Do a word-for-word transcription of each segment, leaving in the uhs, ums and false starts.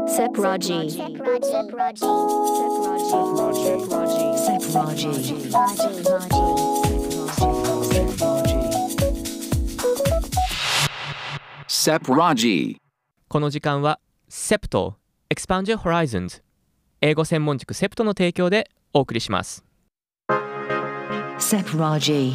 Sepraji. Sepraji. Sepraji。 この時間は セプト Expand Your Horizons 英語専門塾セプトの提供でお送りします。 Sepraji。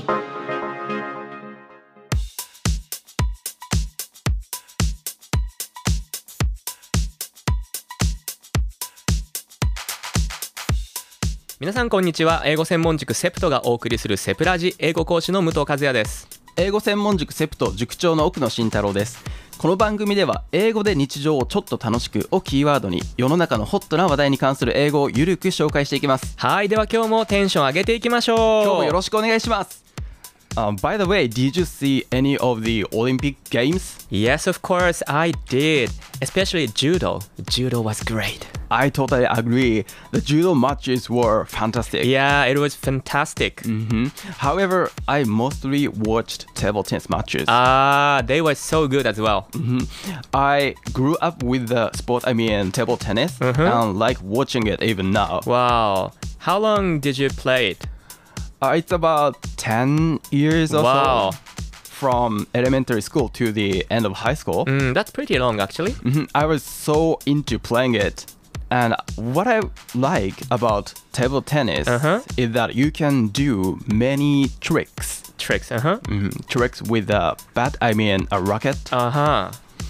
皆さんこんにちは。英語専門塾セプトがお送りするセプラジ英語講師の武藤和也です。 英語専門塾セプト塾長の奥野慎太郎です。この番組では英語で日常をちょっと楽しくをキーワードに世の中のホットな話題に関する英語をゆるく紹介していきます。 はい、では今日もテンション上げていきましょう。 今日もよろしくお願いします。Uh, by the way, did you see any of the Olympic Games? Yes, of course, I did. Especially judo. Judo was great. I totally agree. The judo matches were fantastic. Yeah, it was fantastic. Mm-hmm. However, I mostly watched table tennis matches. Ah, they were so good as well. Mm-hmm. I grew up with the sport, I mean table tennis, Mm-hmm. and like watching it even now. Wow. How long did you play it? Uh, it's about ten years or Wow. so. From elementary school to the end of high school. Mm, that's pretty long actually. Mhm. I was so into playing it. And what I like about table tennis Uh-huh. is that you can do many tricks. Tricks, uh-huh. Mhm. Tricks with a bat, I mean a racket. Uh-huh.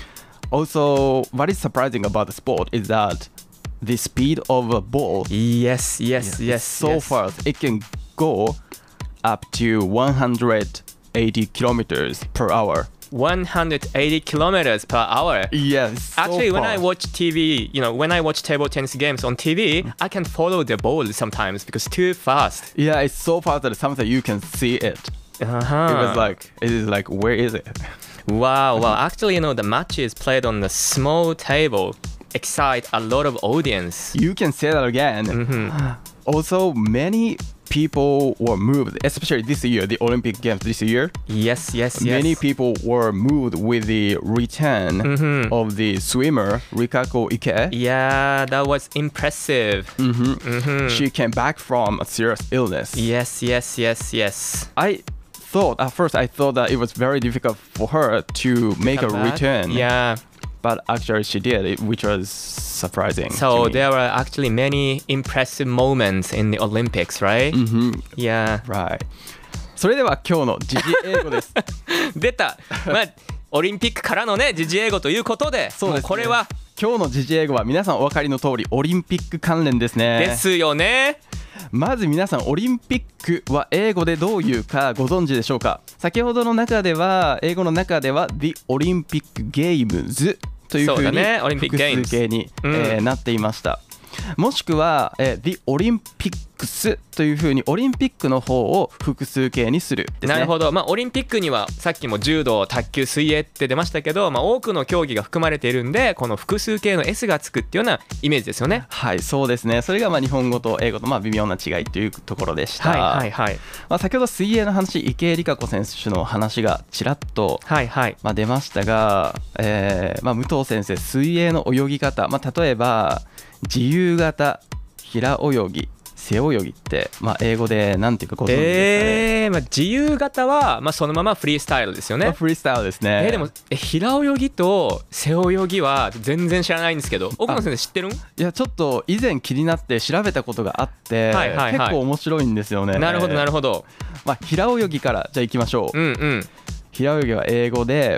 Also, what is surprising about the sport is that the speed of a ball Yes, yes, yes. is so yes. fast. It can go up to one hundred eighty kilometers per hour. one hundred eighty kilometers per hour. Yes. so Actually, when I fast. watch T V, you know, when I watch table tennis games on T V, I can follow the ball sometimes because too fast. Yeah, it's so fast that sometimes you can see it. Uh-huh. It was like, it is like, where is it? Wow, well, actually, you know, the matches played on a small table excite a lot of audience. You can say that again. Mhm. Also, many people were moved, especially this year, the Olympic Games this year. Yes, yes, yes. Many people were moved with the return Mhm. of the swimmer, Rikako Ike. Yeah, that was impressive. Mhm. Mhm. She came back from a serious illness. Yes, yes, yes, yes. I thought, at first, I thought that it was very difficult for her to make a Come back? return. Yeah. But actually she did, which was surprising. So to me. there were actually many impressive moments in the Olympics, right? Mhm. Yeah. Right. それでは今日の時事英語です。 出た。まあオリンピックからのね時事英語ということで、 そうですねもうこれは今日の時事英語は皆さんお分かりの通りオリンピック関連ですね。 ですよね。 まず皆さんオリンピックは英語でどういうかご存知でしょうか。先ほどの中では英語の中では The Olympic Games というふうにそうだねオリンピック複ゲームズ数形に、 うんえーなっていました。もしくは、えー、The Olympics というふうにオリンピックの方を複数形にするですね。 なるほど。まあオリンピックにはさっきも柔道、卓球、水泳って出ましたけど、まあ多くの競技が含まれているんで、この複数形の S がつくっていうようなイメージですよね。 はい、そうですね。それがまあ日本語と英語とまあ微妙な違いというところでした。 はいはいはいまあ、先ほど水泳の話、池江璃花子選手の話がちらっと、 はいはいまあ、出ましたが、えーまあ、武藤先生、水泳の泳ぎ方、まあ、例えば自由形、平泳ぎ、背泳ぎって、まあ、英語でなんていうかご存知ですかね。 えーまあ、自由形は、まあ、そのままフリースタイルですよね。 まあ、フリースタイルですね。 えーでもえ平泳ぎと背泳ぎは全然知らないんですけど、奥野先生知ってるん？ いやちょっと以前気になって調べたことがあって、 はいはいはい結構面白いんですよね。 なるほどなるほど。 ほど。 まあ、平泳ぎからじゃあ行きましょう。 うんうん。 平泳ぎは英語で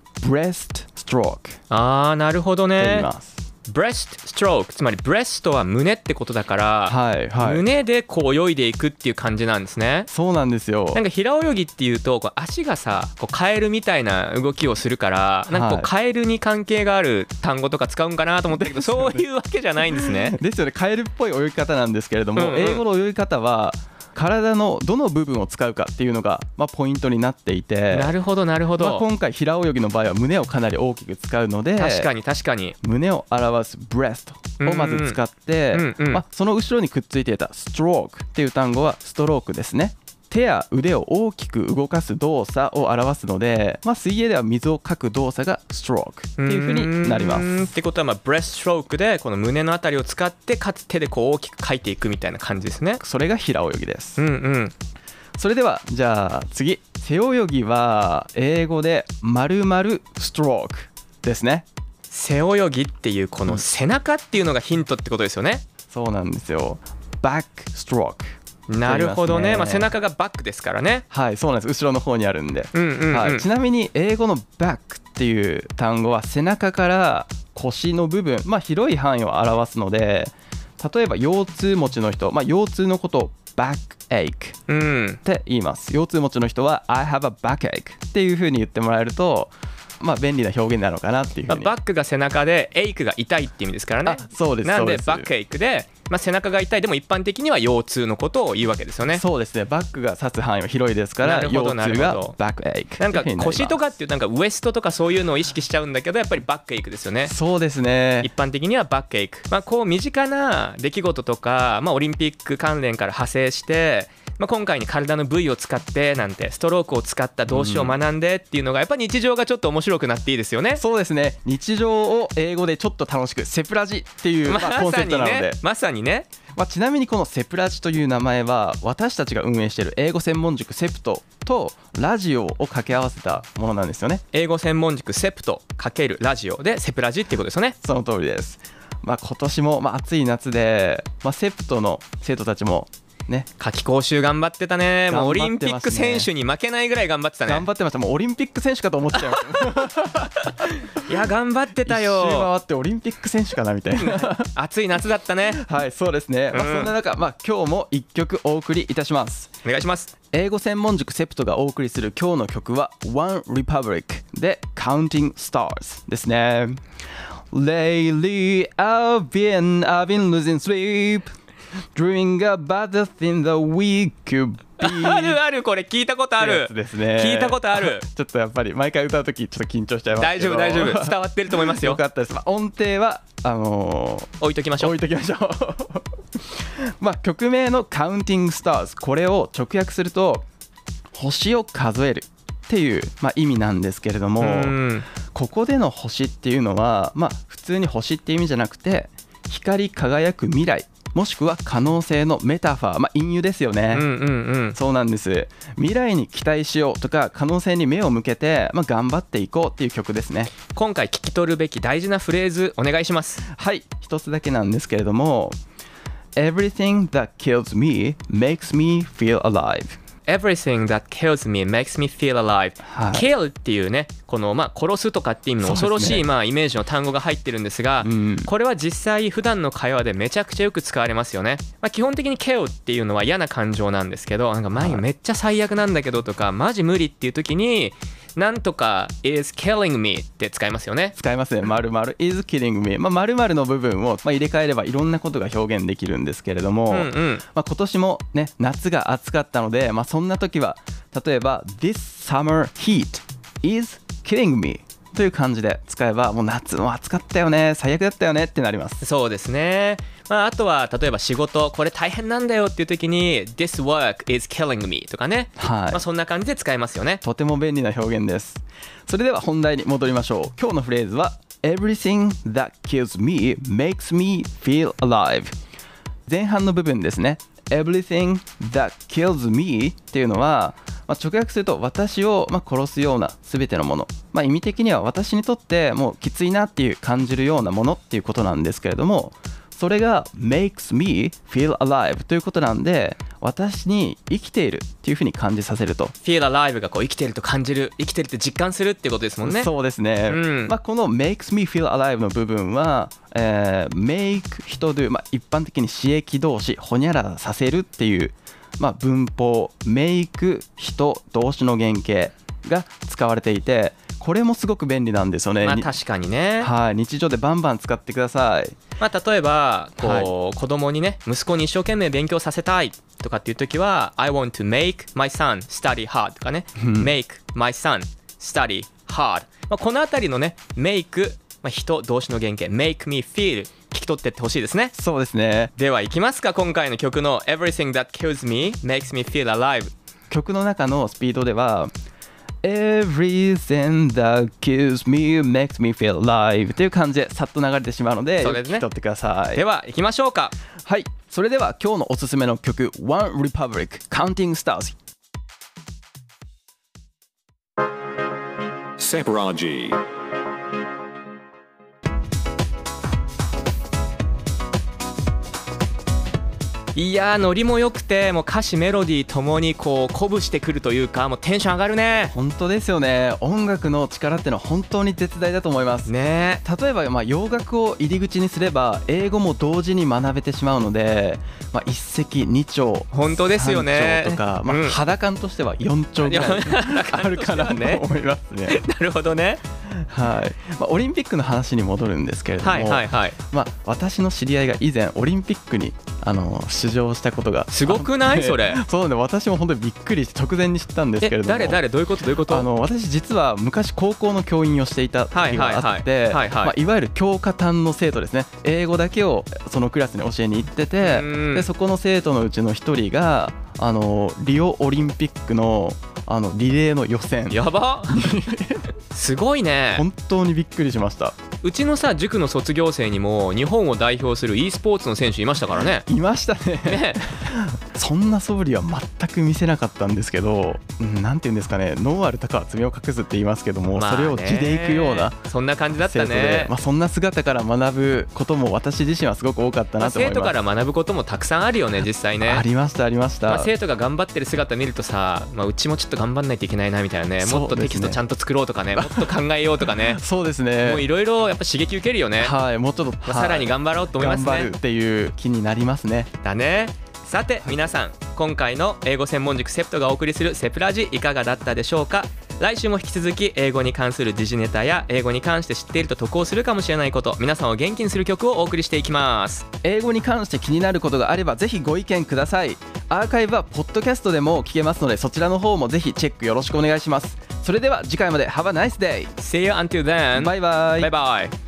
breast stroke あーなるほどと言いね。 ます。 ブレストストローク、つまりブレストは胸ってことだから、 はいはい。 胸でこう泳いでいくっていう感じなんですね。 そうなんですよ。 なんか平泳ぎっていうとこう足がさこうカエルみたいな動きをするからなんかこうはいカエルに関係がある単語とか使うんかなと思ったけどそういうわけじゃないんですね。 ですよね。カエルっぽい泳ぎ方なんですけれども、 うんうん英語の泳ぎ方は体のどの部分を使うかっていうのが、まあ、ポイントになっていて、 なるほどなるほまあ、 ど。 今回平泳ぎの場合は胸をかなり大きく使うので、 確かに確かに。 胸を表す breast をまず使って、 うんうんまあ、その後ろにくっついていた stroke っていう単語はストロークですね。 手や腕を大きく動かす動作を表すので、まあ、水泳では水をかく動作がストロークっていう風になります。 うーんってことはまあブレストストロークでこの胸のあたりを使ってかつ手でこう大きくかいていくみたいな感じですね。 それが平泳ぎです。 うんうん。 それではじゃあ次、背泳ぎは英語で丸々ストロークですね。 背泳ぎっていうこの背中っていうのがヒントってことですよね。 そうなんですよ。バックストローク。 なるほどね。まあ、背中中がバックですからね。 はい、そうなんです。後ろの方にあるんで、 うんうんうん。 はい、ちなみに英語のバックっていう単語は背中から腰の部分、まあ、広い範囲を表すので、例えば腰痛持ちの人、まあ、腰痛のことをバックエイクうんって言います。腰痛持ちの人は I have a backache っていう風に言ってもらえると、まあ、便利な表現なのかなっていうふうに。 まあ、バックが背中でエイクが痛いって意味ですからね。 あ、そうです。 なんでそうですバックエイクで、まあ、背中が痛いでも一般的には腰痛のことを言うわけですよね。 そうですね。バックが指す範囲は広いですから、 なるほど腰痛がバックエイク。 なんか腰とかっていうなんかウエストとかそういうのを意識しちゃうんだけど、やっぱりバックエイクですよね。 そうですね。 一般的にはバックエイク、まあ、こう身近な出来事とか、まあ、オリンピック関連から派生して、まあ、今回に体の部位を使ってなんてストロークを使った動詞を学んでっていうのがやっぱり日常がちょっと面白くなっていいですよね。 そうですね。日常を英語でちょっと楽しく、セプラジっていう、まあ、コンセプトなので、 まさにね、 まあ、ちなみにこのセプラジという名前は私たちが運営している英語専門塾セプトとラジオを掛け合わせたものなんですよね。 英語専門塾セプト×ラジオでセプラジっていうことですよね。 その通りです。まあ、今年もまあ暑い夏で、まあ、セプトの生徒たちもね、 夏季講習頑張ってたね。もうオリンピック頑張ってますね選手に負けないぐらい頑張ってたね。 頑張ってました。もうオリンピック選手かと思っちゃいましたいや頑張ってたよ。 一周回ってオリンピック選手かなみたいな暑い夏だったね。 はい、そうですね、まあ、 うんそんな中、まあ、今日もいっきょくお送りいたします。 お願いします。 英語専門塾セプトがお送りする今日の曲は One Republic で Counting Stars ですね。 Lately I've been, I've been losing sleep Dreaming about the thing that we could be あるある、これ聞いたことある。 やつですね。 聞いたことある。 ちょっとやっぱり毎回歌うときちょっと緊張しちゃいますけど。 大丈夫大丈夫、伝わってると思いますよ。 よかったです。まあ、音程はあのー、 置いときましょう。 置いときましょうまあ曲名の Counting Stars、 これを直訳すると星を数えるっていう、まあ、意味なんですけれども、 うんここでの星っていうのは、まあ、普通に星って意味じゃなくて光り輝く未来もしくは可能性のメタファー、まあ、隠喩ですよね。 うんうんうん。 そうなんです。未来に期待しようとか可能性に目を向けて、まあ、頑張っていこうっていう曲ですね。 今回聞き取るべき大事なフレーズお願いします。 はい、一つだけなんですけれども Everything that kills me makes me feel alive。Everything that kills me makes me feel alive、 はい、 kill っていうね、このまあ殺すとかっていう意味の恐ろしい、 そうですね、 まあイメージの単語が入ってるんですが、 うん、 これは実際普段の会話でめちゃくちゃよく使われますよね。まあ、基本的に kill っていうのは嫌な感情なんですけど、なんか前めっちゃ最悪なんだけどとかマジ無理っていう時になんとか is killing me って使いますよね。 使いますね。〇〇 is killing me、まあ、〇〇の部分を、まあ、入れ替えればいろんなことが表現できるんですけれども、 うんうんまあ、今年もね夏が暑かったので、まあ、そんな時は例えば This summer heat is killing me という感じで使えば、もう夏も暑かったよね、最悪だったよねってなります。 そうですね。まあ、あとは例えば仕事これ大変なんだよっていう時に This work is killing me とかね、 はい、 まあ、そんな感じで使えますよね。 とても便利な表現です。それでは本題に戻りましょう。今日のフレーズは Everything that kills me makes me feel alive。 前半の部分ですね。 Everything that kills me っていうのは、まあ、直訳すると私をまあ殺すような全てのもの、まあ、意味的には私にとってもうきついなっていう感じるようなものっていうことなんですけれども、それが makes me feel alive ということなんで、私に生きているっていう風に感じさせると。 feel alive がこう生きてると感じる、生きてるって実感するってことですもんね。 そうですね、 うんまあ、この makes me feel alive の部分は、えー、make 人 do、まあ、一般的に詞液動詞ほにゃららさせるっていう、まあ、文法 make 人動詞の原型が使われていて、これもすごく便利なんですよね。 まあ確かにね。 はい、日常でバンバン使ってください。 まあ、例えばこう、 はい、 子供にね、息子に一生懸命勉強させたいとかっていう時は I want to make my son study hard とかねmake my son study hard、まあ、このあたりのね make、まあ、人動詞の原型 make me feel 聞き取ってってほしいですね。 そうですね。 ではいきますか、今回の曲の Everything that kills me makes me feel alive。 曲の中のスピードでは Everything that kills me makes me feel alive っていう感じでさっと流れてしまうので、 そうですね、 よく聞き取ってください。 では行きましょうか。 はい、それでは今日のおすすめの曲 One Republic Counting Stars。 Sepraji. いやーノリも良くて、もう歌詞メロディーともにこう鼓舞してくるというか、もうテンション上がるね。 本当ですよね。音楽の力ってのは本当に絶大だと思いますね。 例えばまあ洋楽を入り口にすれば英語も同時に学べてしまうので、まあ、一石二鳥、 本当ですよね。 三鳥とか、まあうん、 肌感としてはよん鳥ぐらいあるかなと思いますね。 なるほどね。 はいまあ、オリンピックの話に戻るんですけれども、 はいはいはい。 まあ、私の知り合いが以前オリンピックにあの出場したことがすごくないそれ。 そうね、私も本当にびっくりして直前に知ったんですけれども、 え誰誰どういうことどういうこと。 あの私実は昔高校の教員をしていた時があっていわゆる教科担の生徒ですね。英語だけをそのクラスに教えに行ってて、でそこの生徒のうちの一人があのリオオリンピックのあのリレーの予選。 やばすごいね。 本当にびっくりしました。 うちのさ塾の卒業生にも日本を代表する e スポーツの選手いましたからね。 いましたね。 ねそんな素振りは全く見せなかったんですけど、うん、なんていうんですかね、脳ある鷹は爪を隠すって言いますけども、 まあね、 それを地でいくようなそんな感じだった生徒で、 ね。 まあ、そんな姿から学ぶことも私自身はすごく多かったなと思います。 まあ、生徒から学ぶこともたくさんあるよね実際ね。 ありましたありました、 まあ、生徒が頑張ってる姿見るとさ、まあ、うちもちょっと頑張んないといけないなみたいなね。もっとテキストちゃんと作ろうとかね、もっと考えようとかねそうですね。 もういろいろやっぱ刺激受けるよね。 はい、もうちょっと、 まあ、さらに頑張ろうと思いますね。 頑張るっていう気になりますね。 だね。さて皆さん、今回の英語専門塾セプトがお送りするセプラジいかがだったでしょうか。来週も引き続き英語に関する時事ネタや英語に関して知っていると得をするかもしれないこと、皆さんを元気にする曲をお送りしていきます。 英語に関して気になることがあればぜひご意見ください。アーカイブはポッドキャストでも聞けますので、そちらの方もぜひチェックよろしくお願いします。それでは次回まで Have a nice day. See you until then. バイバイ。 バイバイ。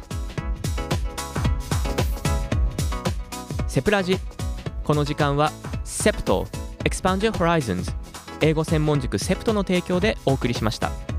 セプラジ、この時間はセプト Expand Your Horizons 英語専門塾セプトの提供でお送りしました。